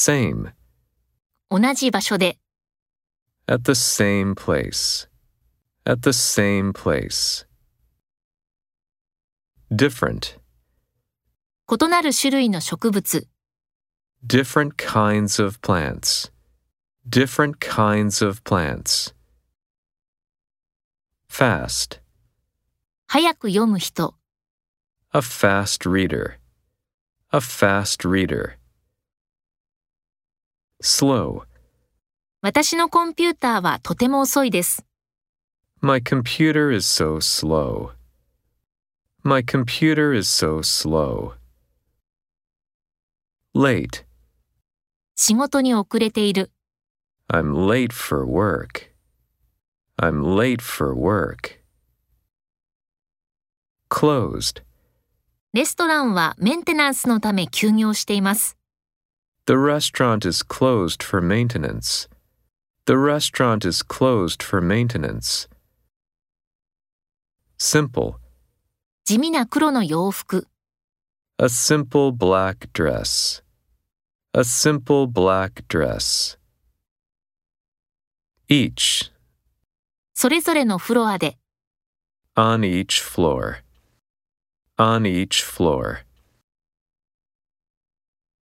same. 同じ場所で。 At the same place. At the same place. Different. 異なる種類の植物。 Different kinds of plants. Different kinds of plants. Fast. 早く読む人。 A fast reader. A fast reader. Slow. 私のコンピューターはとても遅いです。 My computer is so slow. My computer is so slow. Late. 仕事に遅れている。 I'm late for work. I'm late for work. Closed. レストランはメンテナンスのため休業しています。 The restaurant is closed for maintenance. The restaurant is closed for maintenance. Simple. 地味な黒の洋服。 A simple black dress. A simple black dress. Each. それぞれのフロアで。 On each floor. On each floor.